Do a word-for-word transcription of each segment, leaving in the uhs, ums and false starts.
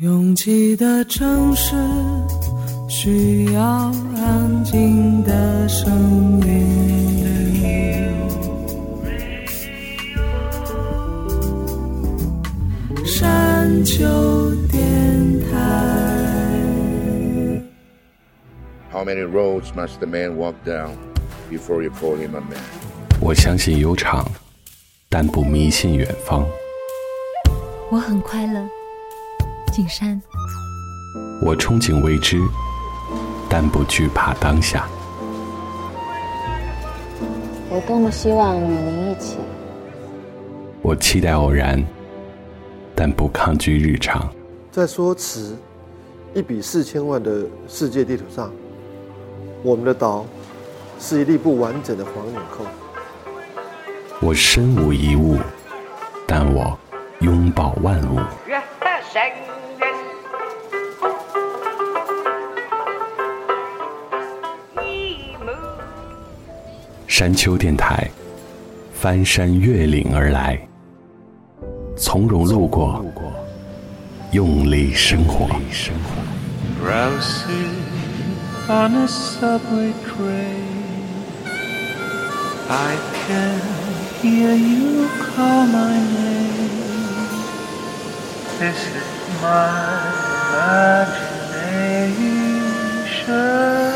拥挤的城市需要安静的声音，山丘电台。 How many roads must the man walk down before you call him a man? 我相信悠长，但不迷信远方。 我很快乐，景山。 我憧憬未知，但不惧怕当下。 我多么希望与您一起。 我期待偶然，但不抗拒日常。 在说词一比四千万的世界地图上，我们的岛是一粒不完整的黄纽扣。 我身无一物，但我拥抱万物。山丘电台，翻山越岭而来，从容路过，用力生活。 Drowsy on a subway train, I can hear you call my name. This is my imagination.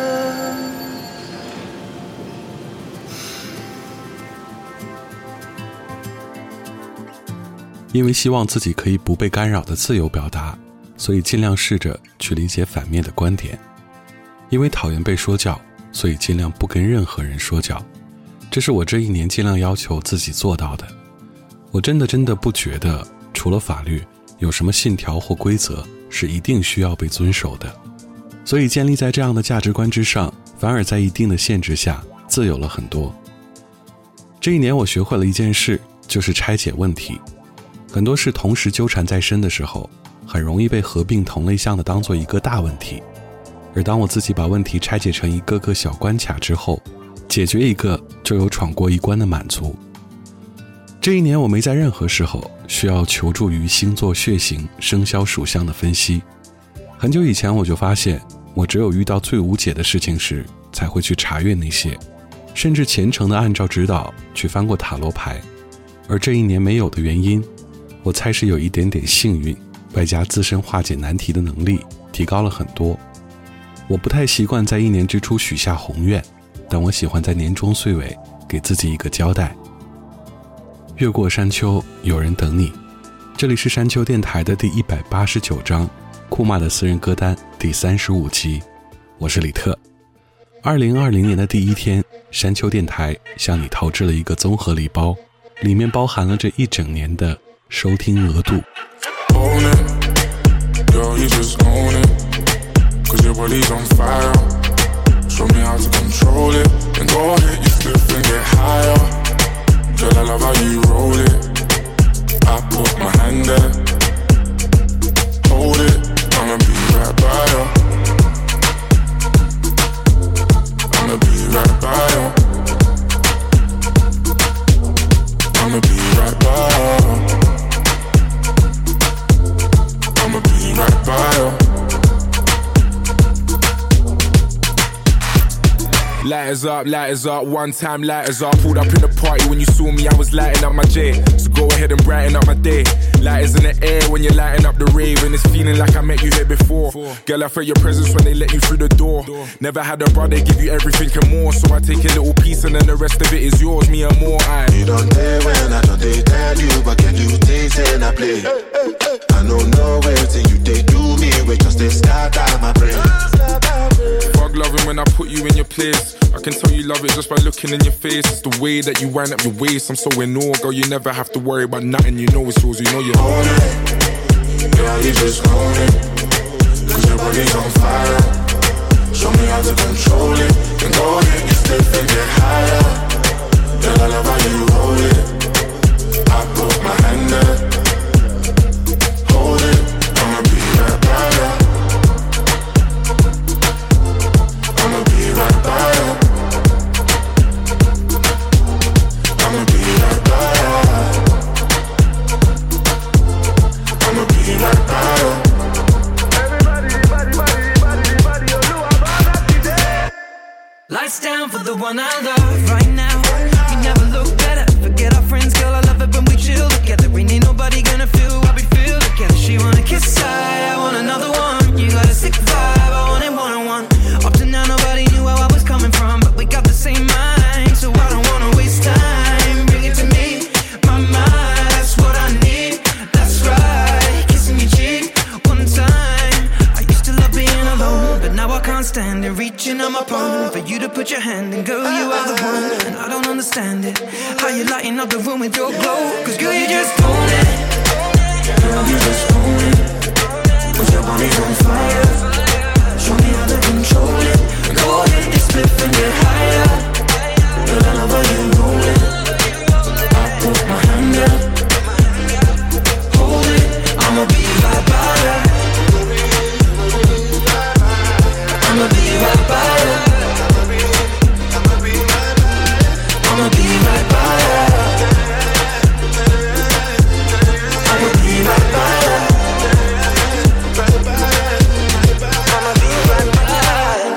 因为希望自己可以不被干扰的自由表达，所以尽量试着去理解反面的观点。因为讨厌被说教，所以尽量不跟任何人说教。这是我这一年尽量要求自己做到的。我真的真的不觉得除了法律有什么信条或规则是一定需要被遵守的。所以建立在这样的价值观之上，反而在一定的限制下自由了很多。这一年我学会了一件事，就是拆解问题。很多事同时纠缠在身的时候，很容易被合并同类项的当做一个大问题。而当我自己把问题拆解成一个个小关卡之后，解决一个就有闯过一关的满足。这一年我没在任何时候需要求助于星座、血型、生肖属相的分析。很久以前我就发现，我只有遇到最无解的事情时才会去查阅那些，甚至虔诚地按照指导去翻过塔罗牌。而这一年没有的原因，我猜是有一点点幸运，外加自身化解难题的能力提高了很多。我不太习惯在一年之初许下宏愿，但我喜欢在年终岁尾给自己一个交代。越过山丘，有人等你。这里是山丘电台的第一百八十九章，库玛的私人歌单第三十五集。我是李特。二零二零年的第一天，山丘电台向你投掷了一个综合礼包，里面包含了这一整年的收听额度。 Own it, girl, you just own it, cause your body's on fire. Show me how to control it, then go ahead, you flip and get higher. Girl, I love how you roll it, I put my hand there. Hold it, I'ma be right by you, I'ma be right by you, I'ma be right by you,I'ma be right by you. Lighters up, lighters up, one time lighters up. Pulled up in the party when you saw me, I was lighting up my J. So go ahead and brighten up my day. Lighters in the air when you're lighting up the rave, and it's feeling like I met you here before. Girl, I felt your presence when they let you through the door. Never had a brother give you everything and more, so I take a little piece and then the rest of it is yours, me and more. I You don't dare when I don't they tell you, but can you taste and I play? I don't know where till you they do me, we just they scatter my brain. Fuck loving when I put you in your place. I can tell you love it just by looking in your face. It's the way that you wind up your waist. I'm so in awe, girl, you never have to worry about nothing. You know it's yours, you know you own it. Girl, you just own it, cause your body's on fire. Show me how to control it, then go ahead, you flip and get higher. Girl, I love how you roll it, I put my hand there. Hold it, I'ma be right by you, I'ma be right by you,I'ma be right by you, I'ma be right by you. understand it. Reaching on my palm for you to put your hand in. Girl, you are the one, and I don't understand it. How you lighting up the room with your glow. Cause girl, you just own it. Girl, you just own it. Put your body on fire. Show me how to control it. Go ahead, get split and get higher. Girl, I love how you roll it. I put my hand up. Hold it, I'ma be right by you. I'ma be right by you. I'ma be right by you. I'ma be right by you. I'ma be right by you.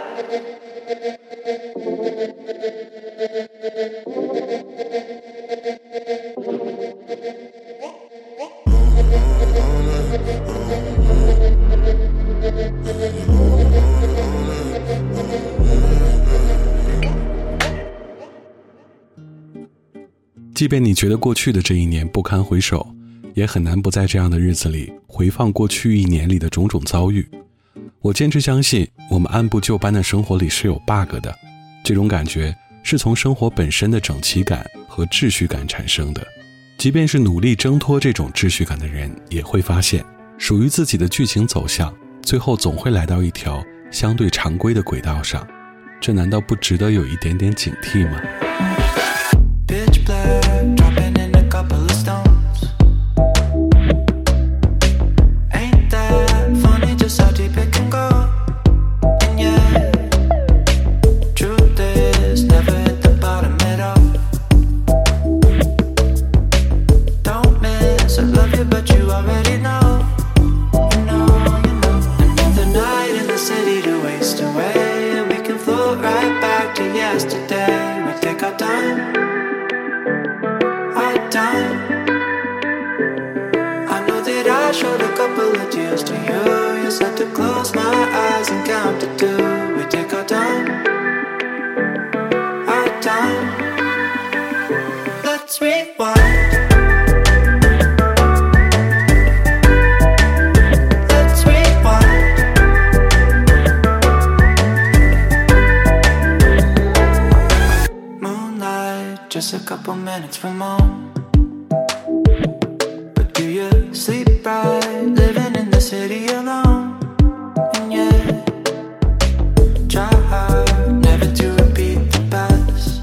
即便你觉得过去的这一年不堪回首，也很难不在这样的日子里回放过去一年里的种种遭遇。我坚持相信，我们按部就班的生活里是有 bug 的，这种感觉是从生活本身的整齐感和秩序感产生的。即便是努力挣脱这种秩序感的人，也会发现属于自己的剧情走向最后总会来到一条相对常规的轨道上，这难道不值得有一点点警惕吗？ Pitch black, dropping in a couple of stones. Ain't that funny just how deep it can go? And yeah, truth is never hit the bottom at all. Don't miss, I love you but you already know. You know, you know. Another night in the city to waste away, and we can float right back to yesterday. We take our time. I know that I showed a couple of tears to you. You said to close my eyes and count to two. We take our time, our time. Let's rewind. Let's rewind. Moonlight, just a couple minutes from home. Sleep right, living in the city alone. And yeah, try hard never to repeat the past.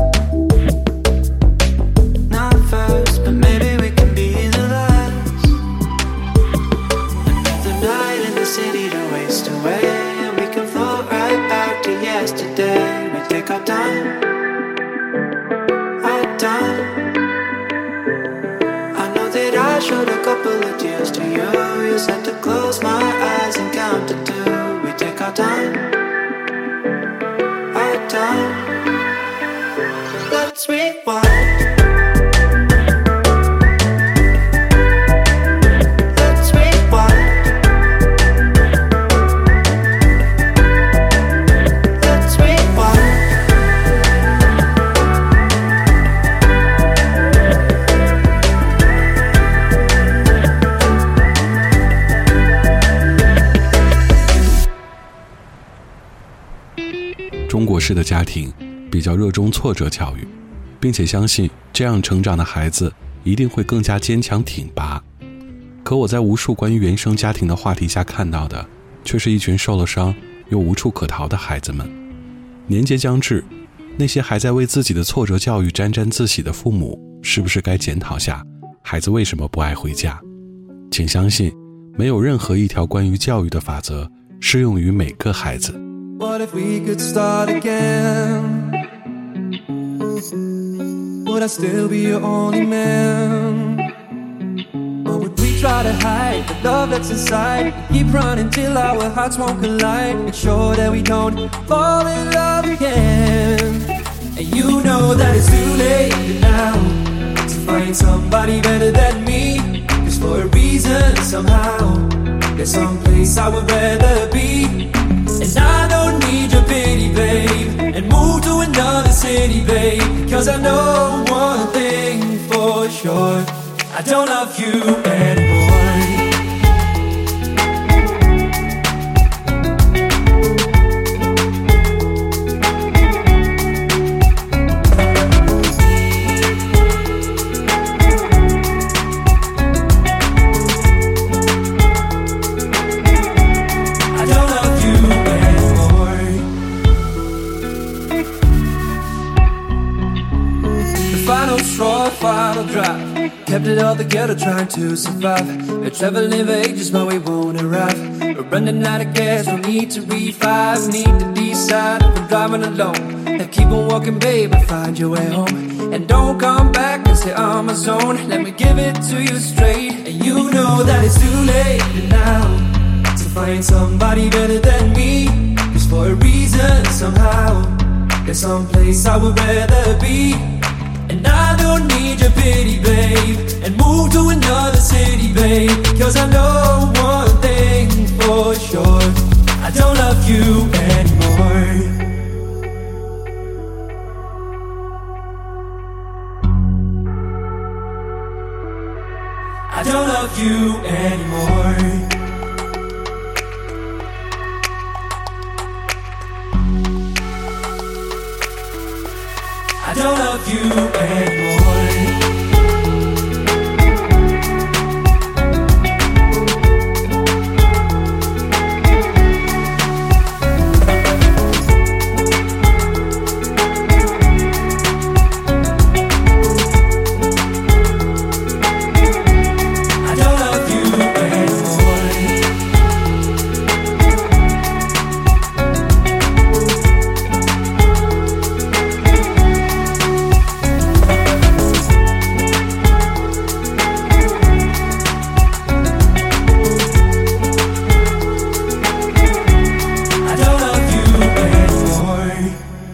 Not first, but maybe we can be the last. Another night in the city to waste away, and we can float right back to yesterday. We take our time, our time. I showed a couple of tears to you. You said to close my eyes and count to two. We take our time, our time. Let's rewind. Let's rewind. Let's rewind. 《中国式的家庭比较热衷挫折教育，并且相信这样成长的孩子一定会更加坚强挺拔。可我在无数关于原生家庭的话题下看到的，却是一群受了伤又无处可逃的孩子们。年节将至，那些还在为自己的挫折教育沾沾自喜的父母，是不是该检讨下孩子为什么不爱回家？请相信，没有任何一条关于教育的法则适用于每个孩子。 What if we could start again? Would I still be your only man? Or would we try to hide the love that's inside? Keep running till our hearts won't collide. Make sure that we don't fall in love again. And you know that it's too late now to find somebody better than me. Cause for a reason, somehow, there's some place I would rather be. And I don't need your pity, babe, and move to another city, babe. Cause I know one thing for sure, I don't love you anymore. final drive. Kept it all together trying to survive. We're traveling for ages but we won't arrive. We're running out of gas, we need to revive. Need to decide if we're driving alone. Now keep on walking babe and find your way home. And don't come back and stay on my zone. Let me give it to you straight. And you know that it's too late now to find somebody better than me. Cause for a reason somehow there's some place I would rather be. And I don't need your pity, babe, and move to another city, babe. Cause I know one thing for sure, I don't love you anymore. I don't love you anymore. I don't love you anymore. I don't love you anymore. I don't love you anymore.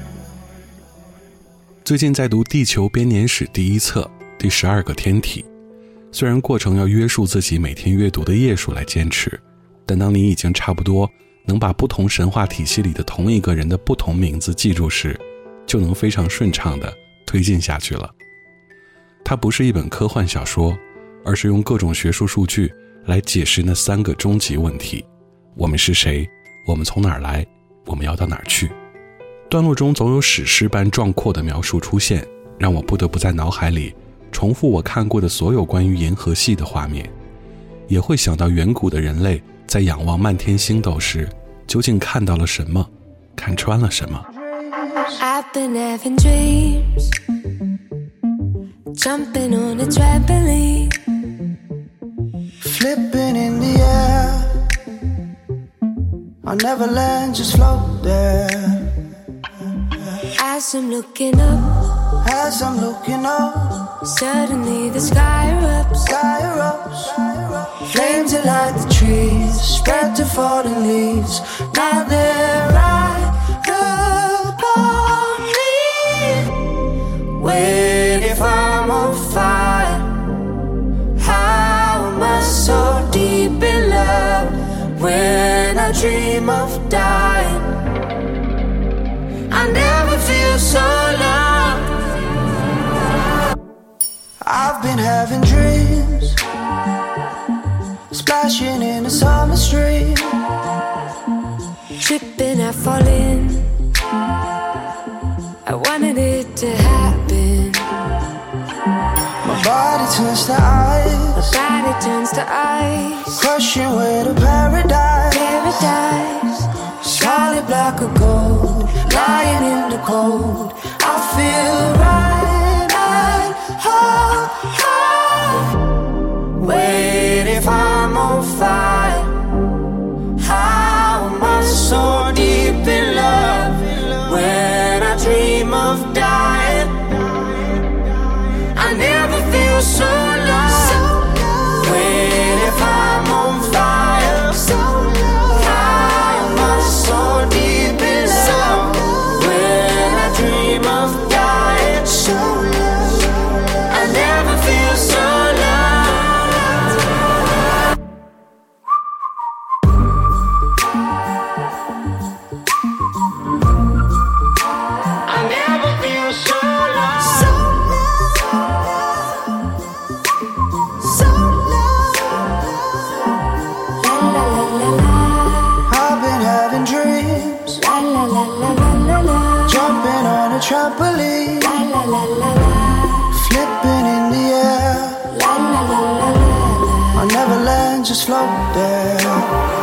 最近在读《地球编年史》第一册第十二个天体，虽然过程要约束自己每天阅读的页数来坚持，但当你已经差不多能把不同神话体系里的同一个人的不同名字记住时，就能非常顺畅地推进下去了。它不是一本科幻小说，而是用各种学术数据来解释那三个终极问题：我们是谁？我们从哪儿来？我们要到哪儿去？段落中总有史诗般壮阔的描述出现，让我不得不在脑海里重复我看过的所有关于银河系的画面，也会想到远古的人类在仰望漫天星斗时究竟看到了什么，看穿了什么。 I've been having dreams, jumping on a trampoline, flipping in the air. I'll never land, just float there. As I'm looking up, As I'm looking up, suddenly the sky erupts, sky erupts. Flames that light the trees, spread to fallen leaves. Now they're right upon me. Wait, if I'm on fire, how am I so deep in love? When I dream of dying, I never feel so loved. I've been having dreams, splashing in a summer stream, tripping, I fall in. I wanted it to happen. my body turns to ice, My body turns to ice, crushing way to paradise. paradise. Solid block of gold, lying in the cold. I feel right at home, home. Wait, if I'm on fire, how am I so deep in love? When I dream of dying, I never feel so loved. Wait, if I'm on fire, how am I so deep in love? When I dream of dying, I never feel so loved. I never feel so loved. La la la la la, I've been having dreams, la la la la la la la, jumping on a trampoline, la la la la la, flipping in the air. la la la la la. I'll never land, just float there.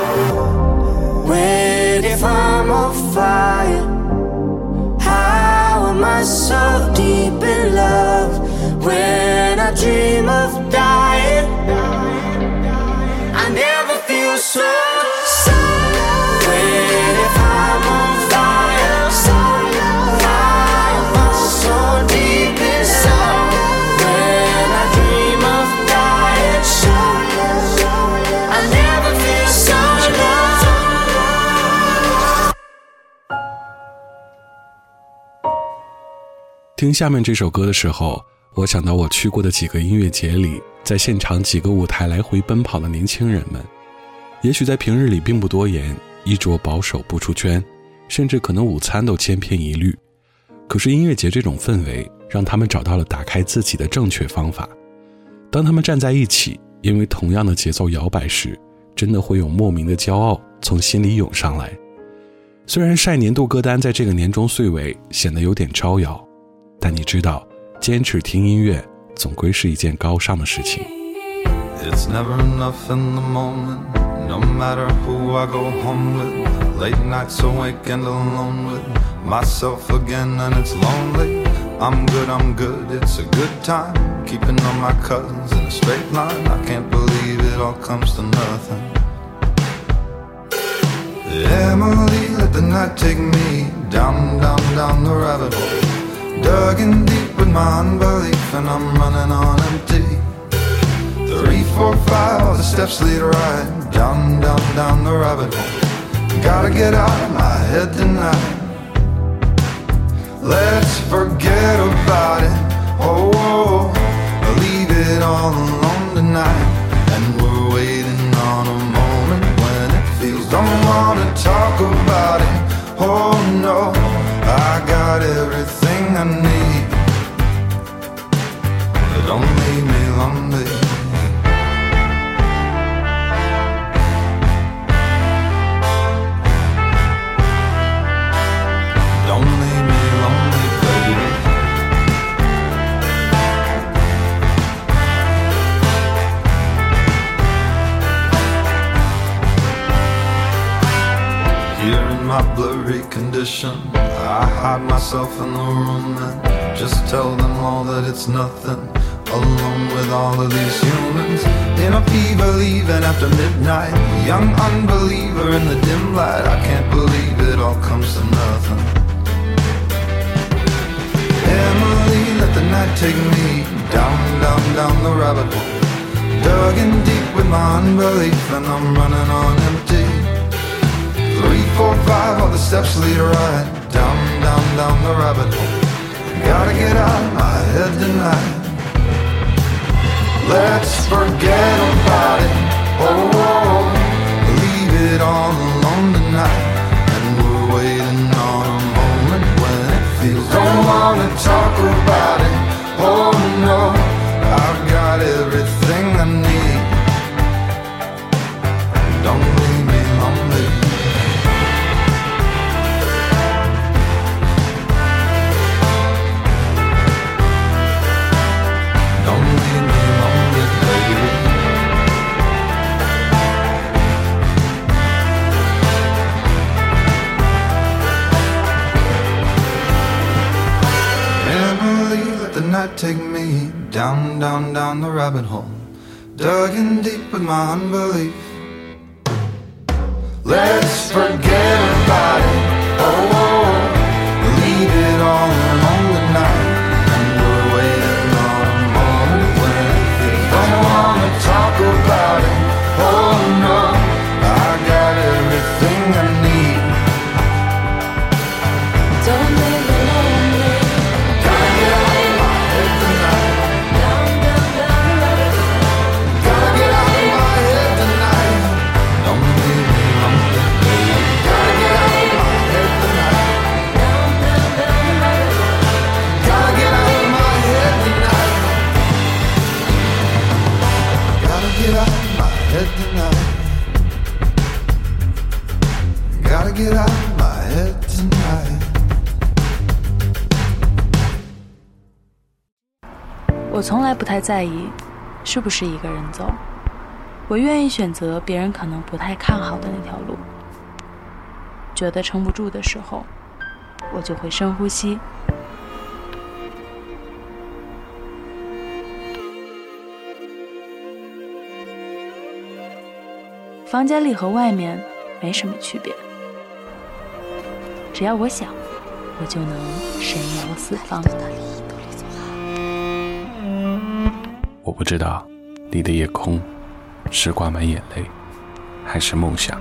Wait, if I'm on fire, how am I so deep in love? when I dream of dying. I never feel so when if I'm on fire, fire burns so deep inside. When I dream of dying, I never feel so low. 听下面这首歌的时候，我想到我去过的几个音乐节里，在现场几个舞台来回奔跑的年轻人们，也许在平日里并不多言，衣着保守不出圈，甚至可能午餐都千篇一律，可是音乐节这种氛围让他们找到了打开自己的正确方法。当他们站在一起，因为同样的节奏摇摆时，真的会有莫名的骄傲从心里涌上来。虽然晒年度歌单在这个年终岁尾显得有点招摇，但你知道坚持听音乐总归是一件高尚的事情。 It's never enough in the moment, no matter who I go home with. Late nights awake and alone with myself again, and it's lonely. I'm good, I'm good, it's a good time. Keeping all my cousins in a straight line. I can't believe it all comes to nothing. Emily, let the night take me down, down, down the rabbit hole. Dug in deep with my unbelief, and I'm running on empty. Three, four, five, all the steps lead right down, down, down the rabbit hole. Gotta get out of my head tonight. Let's forget about it. Oh, oh, oh, leave it all alone tonight. And we're waiting on a moment when it feels. Don't wanna talk about it. Oh no, I got everything I need. Don't leave me lonely. Don't leave me lonely, baby. Here in my blurry condition, I hide myself in the room and just tell them all that it's nothing. Alone with all of these humans in a fever, leaving after midnight. Young unbeliever in the dim light. I can't believe it all comes to nothing. Emily, let the night take me down, down, down the rabbit hole. Dug in deep with my unbelief, and I'm running on empty. Three, four, five, all the steps lead right down, down, down the rabbit hole. Gotta get out of my head tonight. Let's forget about it. Oh, oh, leave it all alone tonight. And we're waiting on a moment when it feels. Don't wanna talk about it. Oh no, I've got everything I need. Don't leave me lonely. Don't leave me lonely, baby. Emily, let the night take me down, down, down the rabbit hole. Dug in deep with my unbelief. Let's forget about it. Oh, oh, oh. Leave it all alone tonight. And we're waiting on a moment when it feels. Don't wanna talk about it. Oh no, I got everything I need. Don't leave me lonely. Gotta get out of my head tonight. Down, down, down. Gotta get out of my head tonight. Don't leave me lonely, baby. Gotta get out of my head tonight. Down, down, down. Gotta get out of my head tonight. Gotta get out of my head tonight. Gotta get out of my head tonight. 我从来不太在意是不是一个人走，我愿意选择别人可能不太看好的那条路。觉得撑不住的时候，我就会深呼吸， 房间里和外面没什么区别，只要我想，我就能神游四方。 我不知道你的夜空是挂满眼泪还是梦想，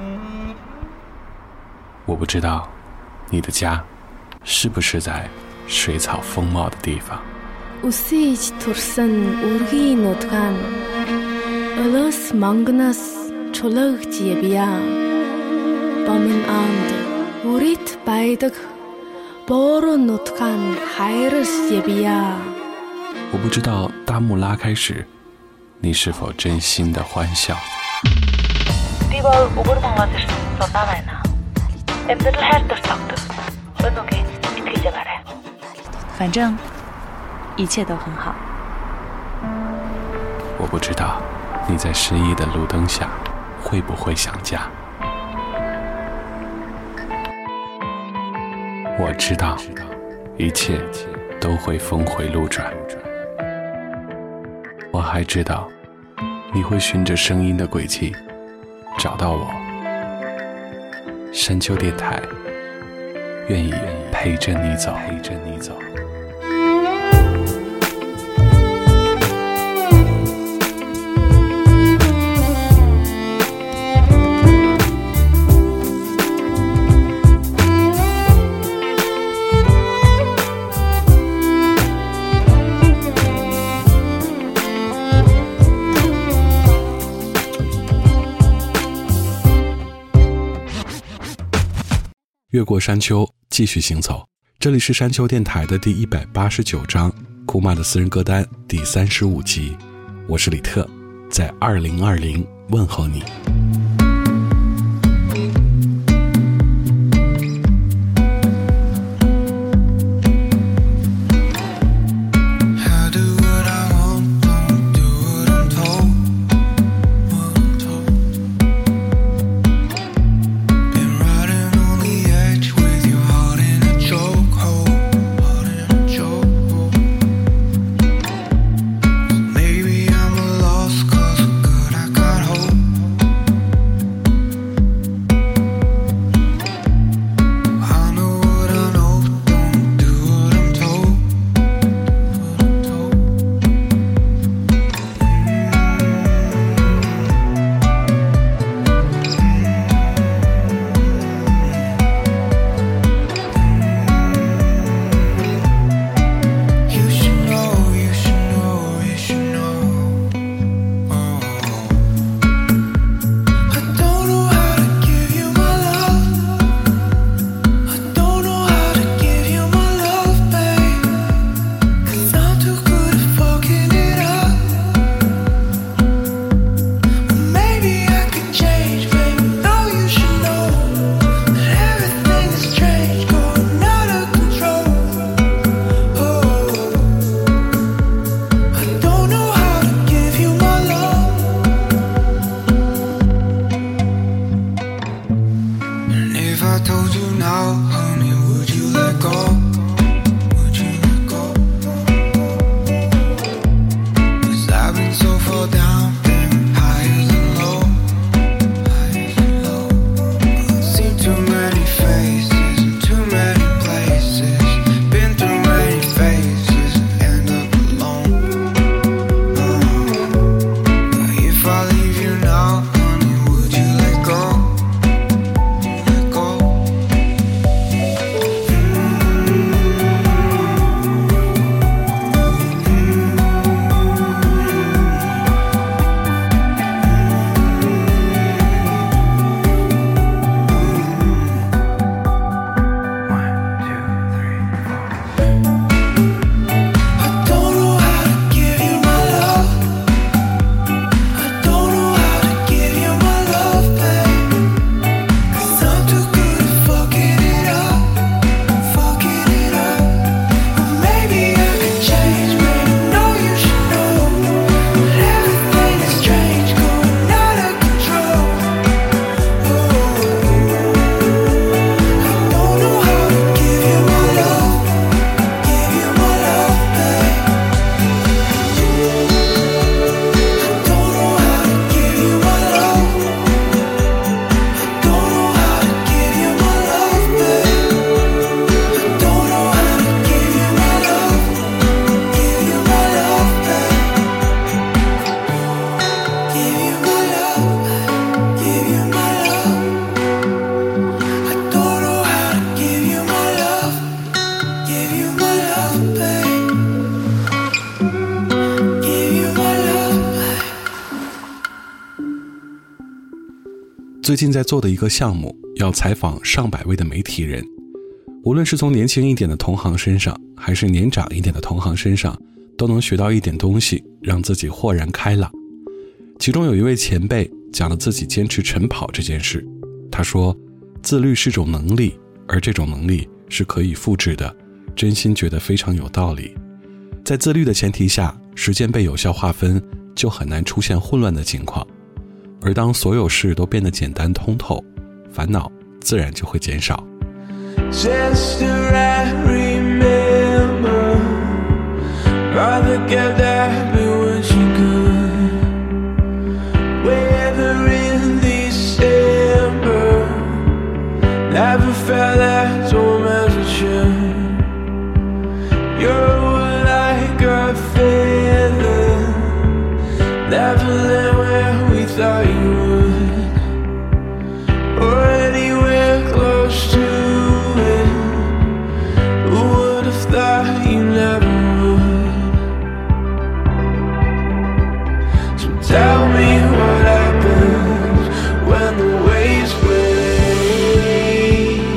我不知道你的家是不是在水草丰茂的地方。 Үсэж турсан үргийн нутгаан Олос мангнаас чулаагч явъя. Бомын анд үрит байдаг бороо нутгаан хайрс явъя. 我不知道大幕拉开时你是否真心的欢笑。 反正一切都很好。 我不知道你在失意的路灯下会不会想家。我知道一切都会峰回路转。我还知道你会循着声音的轨迹找到我。山丘电台愿意陪着你走，陪着你走。越过山丘，继续行走。这里是山丘电台的第一百八十九章，库玛的私人歌单第三十五集。我是李特，在二零二零问候你。 最近在做的一个项目，要采访上百位的媒体人，无论是从年轻一点的同行身上，还是年长一点的同行身上，都能学到一点东西，让自己豁然开朗。其中有一位前辈讲了自己坚持晨跑这件事，他说自律是种能力，而这种能力是可以复制的，真心觉得非常有道理。在自律的前提下，时间被有效划分，就很难出现混乱的情况。而当所有事都变得简单通透，烦恼自然就会减少。 Just to remember, Mother kept happy when she could. Weather in December never felt as warm as it should. You're like a feather, never land where we thought you would, or anywhere close to it. Who would have thought you never would? So tell me what happens when the waves break,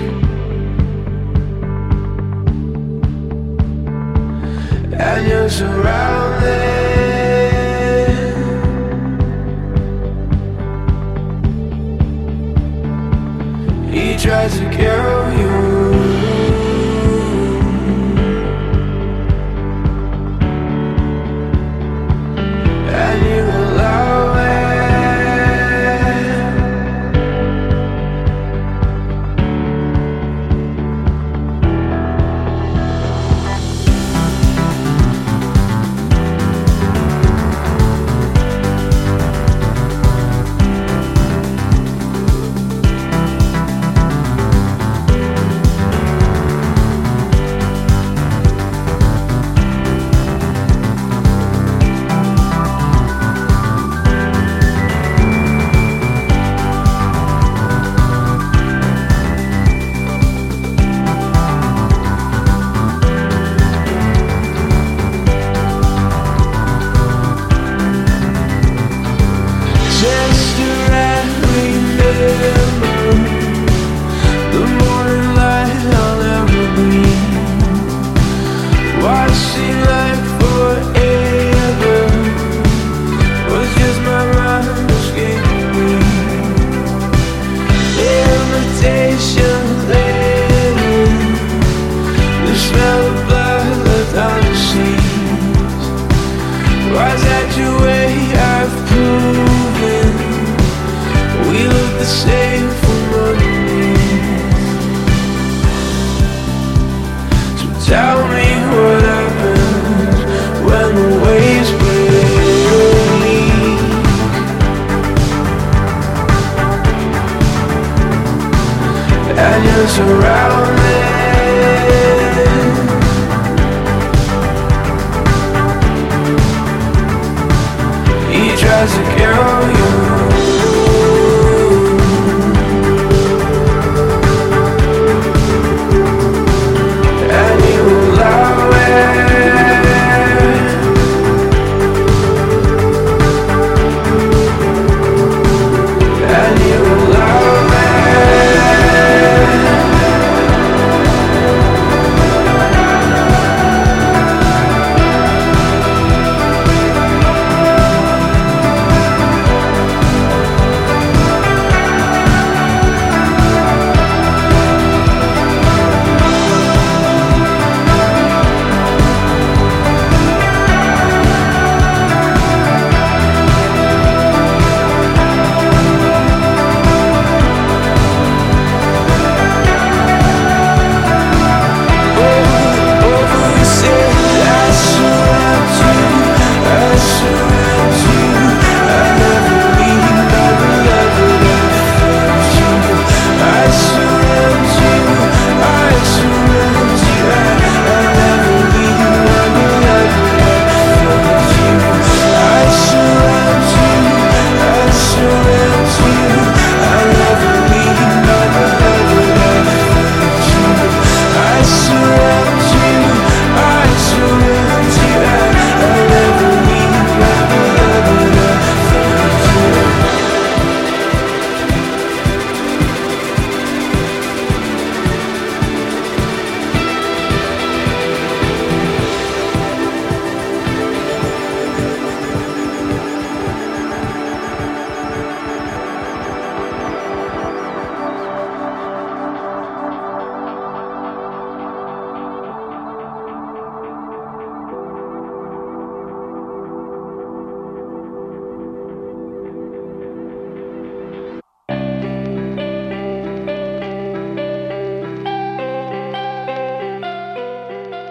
and you're surrounded. He tries to kill you, and you allow it. Tell me what happens when the waves break, and you're surrounded. He tries to kill you,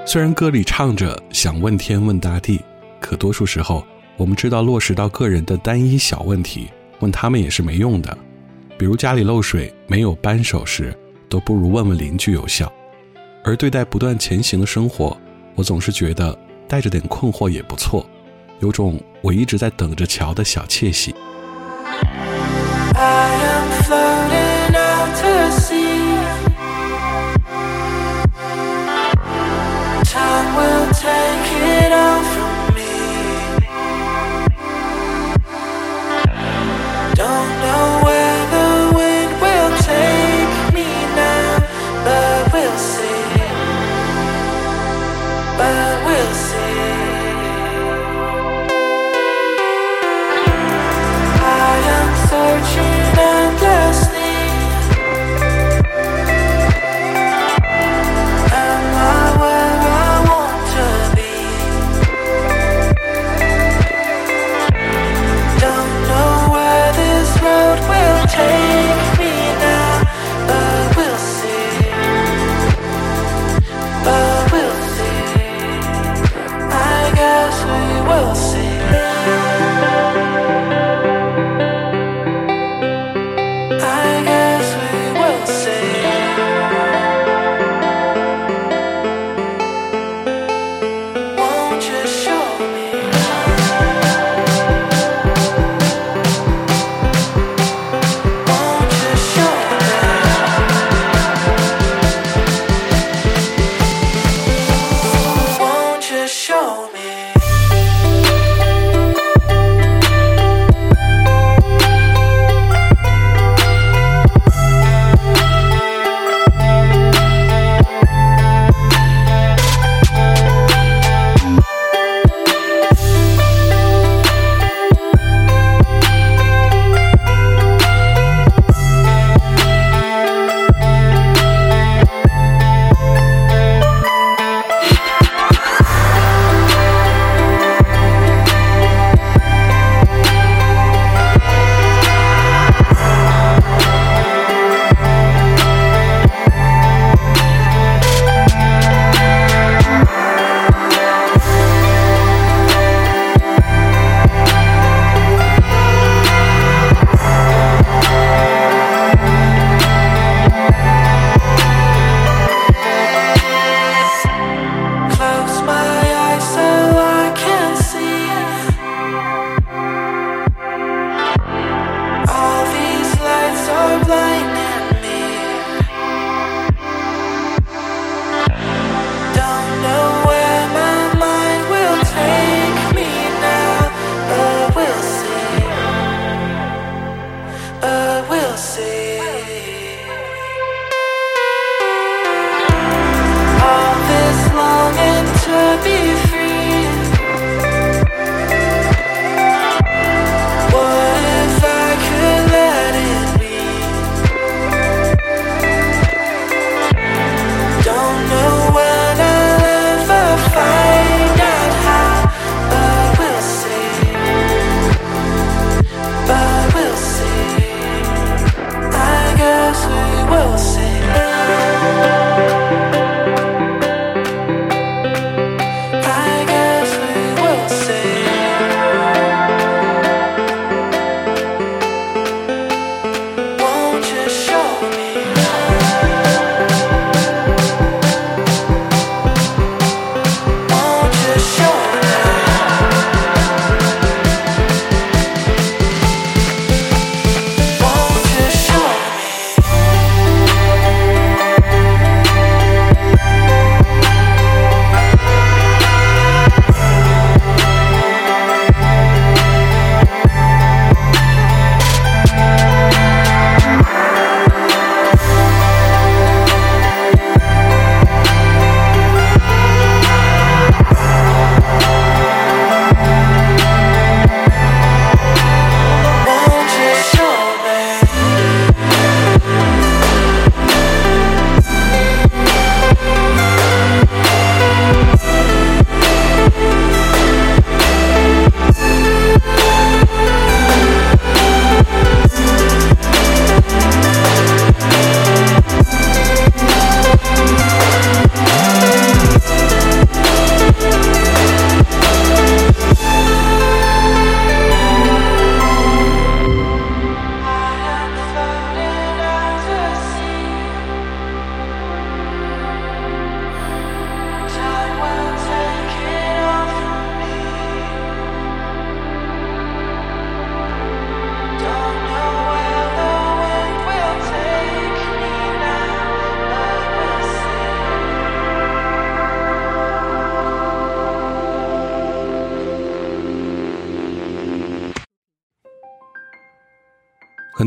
虽然歌里唱着想问天问大地，可多数时候我们知道落实到个人的单一小问题，问他们也是没用的。比如家里漏水没有扳手时，都不如问问邻居有效。而对待不断前行的生活，我总是觉得带着点困惑也不错，有种我一直在等着瞧的小窃喜。 I am floating out to sea. Time will take it all from me. Don't know where the wind will take me now, but we'll see. But we'll see. I am searching endlessly. Am I where I want to be? Don't know where this road will take me now, but we'll see. But we'll see. I guess we will see. I guess we will see. Won't you show me? Won't you show me? Won't you show me? Close my eyes so I can see. All these lights are blinding me. Don't know where my mind will take me now, but we'll see. But we'll see. All this longing to be free. What if I could let it be? Don't know when I'll ever find out how, but we'll see. But we'll see. I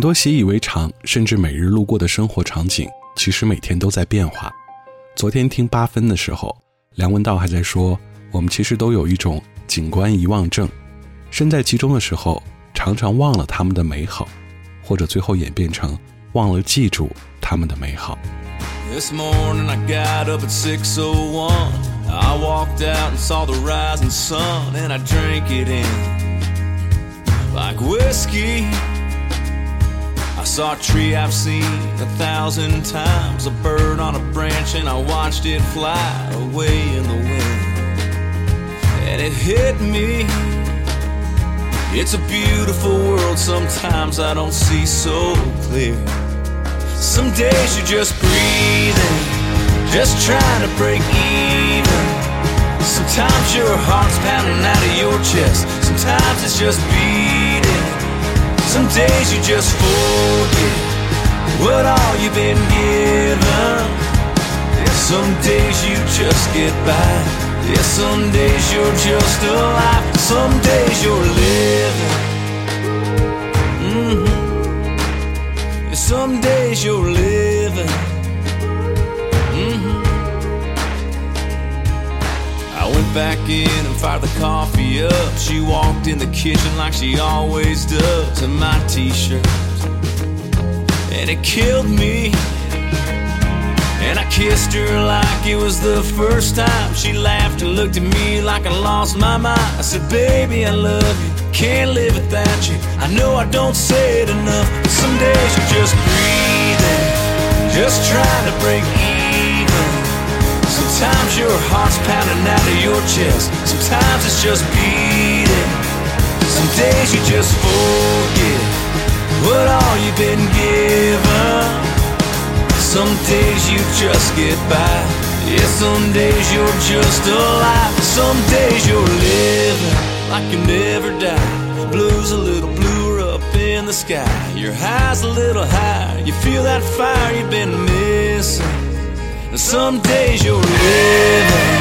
多习以为常甚至每日路过的生活场景其实每天都在变化。昨天听八分的时候，梁文道还在说，我们其实都有一种景观遗忘症，身在其中的时候常常忘了他们的美好，或者最后演变成忘了记住他们的美好。 This morning I got up at six oh one. I walked out and saw the rising sun, and I drank it in like whiskey. I saw a tree I've seen a thousand times, a bird on a branch, and I watched it fly away in the wind. And it hit me, it's a beautiful world, sometimes I don't see so clear. Some days you're just breathing, just trying to break even. Sometimes your heart's pounding out of your chest, sometimes it's just beating. Some days you just forget what all you've been given. Yeah, some days you just get by. Yeah, some days you're just alive. Some days you're living. Mm-hmm. Yeah, some days you're living. Mm-hmm. I went back in and fired the coffee up. She walked in the kitchen like she always does, in my t-shirt, and it killed me. And I kissed her like it was the first time. She laughed and looked at me like I lost my mind. I said, baby, I love you, can't live without you. I know I don't say it enough, but some days you're just breathing, just trying to break even. Sometimes your heart's pounding out of your chest, sometimes it's just beating. Some days you just forget what all you've been given. Some days you just get by. Yeah, some days you're just alive. Some days you're living like you never die. Blue's a little bluer up in the sky. Your high's a little higher. You feel that fire you've been missing. And some days you're living.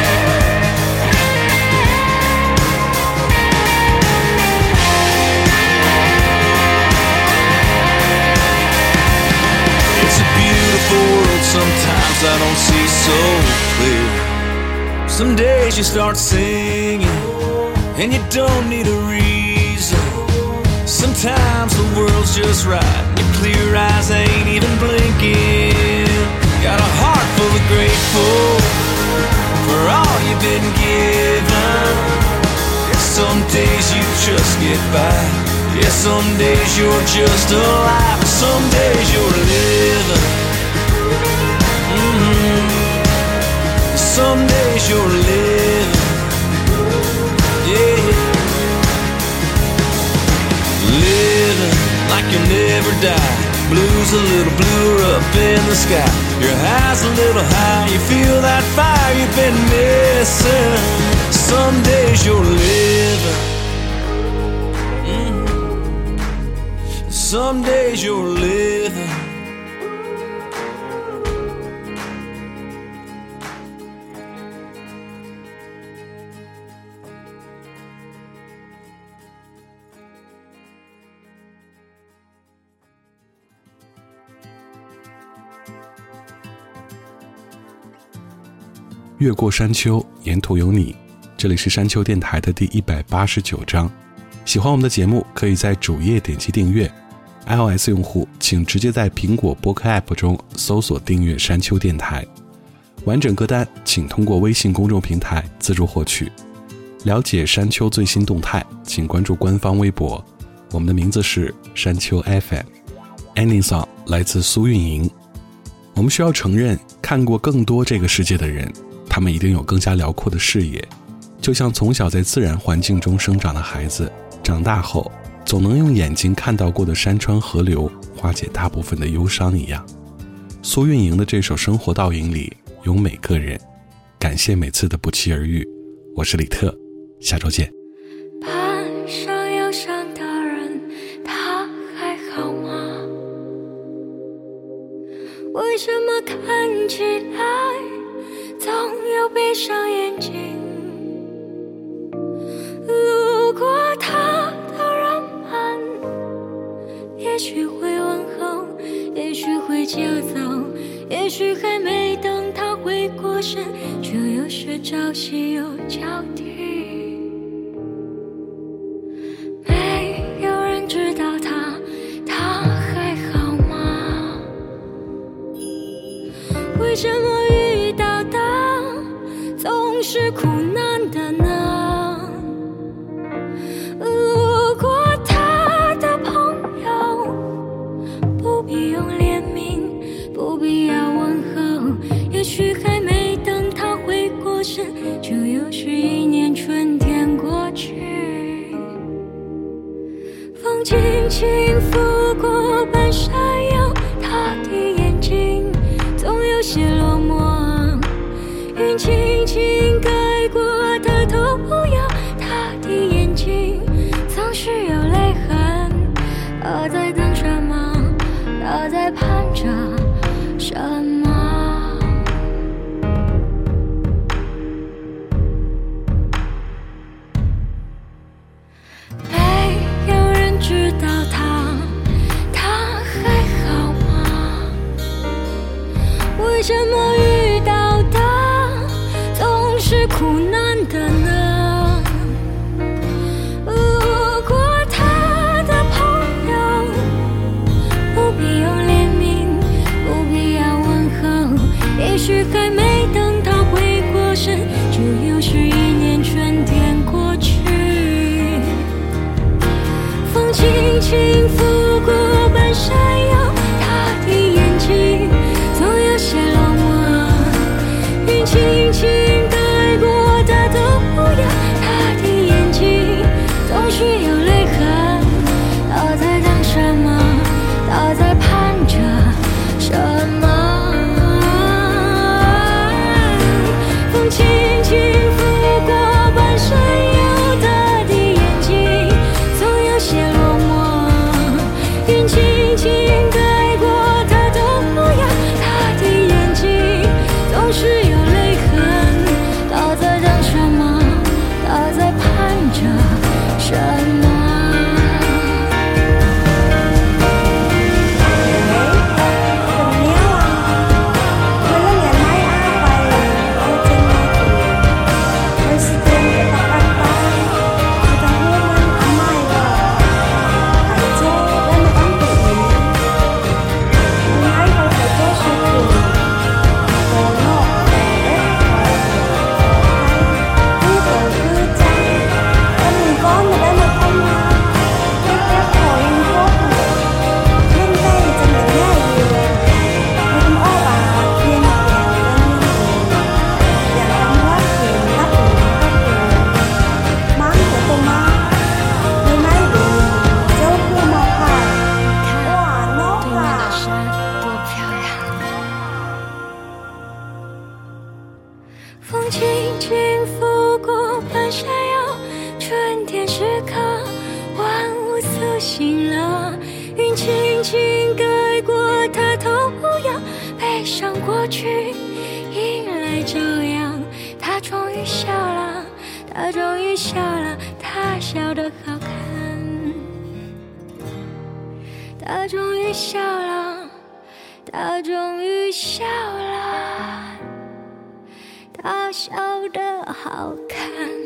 World, sometimes I don't see so clear. Some days you start singing and you don't need a reason. Sometimes the world's just right, your clear eyes ain't even blinking. Got a heart full of grateful for all you've been given. Some days you just get by. Yeah, some days you're just alive. Some days you're living. Mm-hmm. Some days you're living, yeah, living like you never die. Blue's a little bluer up in the sky. Your high's a little high. You feel that fire you've been missing. Some days you're living, mm-hmm. Some days you're living. 越过山丘，沿途有你。这里是山丘电台的第一百八十九章。喜欢我们的节目，可以在主页点击订阅。iOS 用户请直接在苹果播客 App 中搜索订阅山丘电台。完整歌单请通过微信公众平台自助获取。了解山丘最新动态，请关注官方微博。我们的名字是山丘 F M。Ending Song 来自苏运莹。我们需要承认，看过更多这个世界的人，他们一定有更加辽阔的视野，就像从小在自然环境中生长的孩子，长大后总能用眼睛看到过的山川河流化解大部分的忧伤一样。苏运莹的这首《生活倒影》里有每个人，感谢每次的不期而遇。我是李特，下周见。 攀上忧伤的人，他还好吗？为什么看起来总有闭上眼睛？路过他的人们，也许会忘来就走，也许还没等他回过神，就又是朝夕又交替。没有人知道他，他还好吗？为什么遇到的总是苦难的呢？如果他的朋友不必用怜悯，不必要问候，也许还没等他回过神，就又是一年春天过去。风轻轻拂过半山腰，他的眼睛总有些落寞，云轻轻盖过他头摇，他的眼睛总是有泪痕。他在等什么？他在盼着什么？没有人知道他，他还好吗？为什么遇到的总是苦难的呢？如果他的朋友不必用怜悯，不必要问候，也许还没等他回过神，就又是一年春天过去。风轻轻拂过半山腰，他的眼睛总有些落寞，云轻轻盖过他的模样，他的眼睛总是有泪痕。他在等什么？他在盼着什么？风轻轻拂过半山腰，他的眼睛总有些落寞，云轻轻盖过他的模样，他的眼睛总是有泪痕。他在等什么？他在盼着什么？风轻轻拂过半山腰，春天时刻，万物苏醒了。云轻轻盖过他头摇，悲伤过去，迎来朝阳。他终于笑了，他终于笑了，他笑得好看。他终于笑了，他终于笑了，他笑得好看。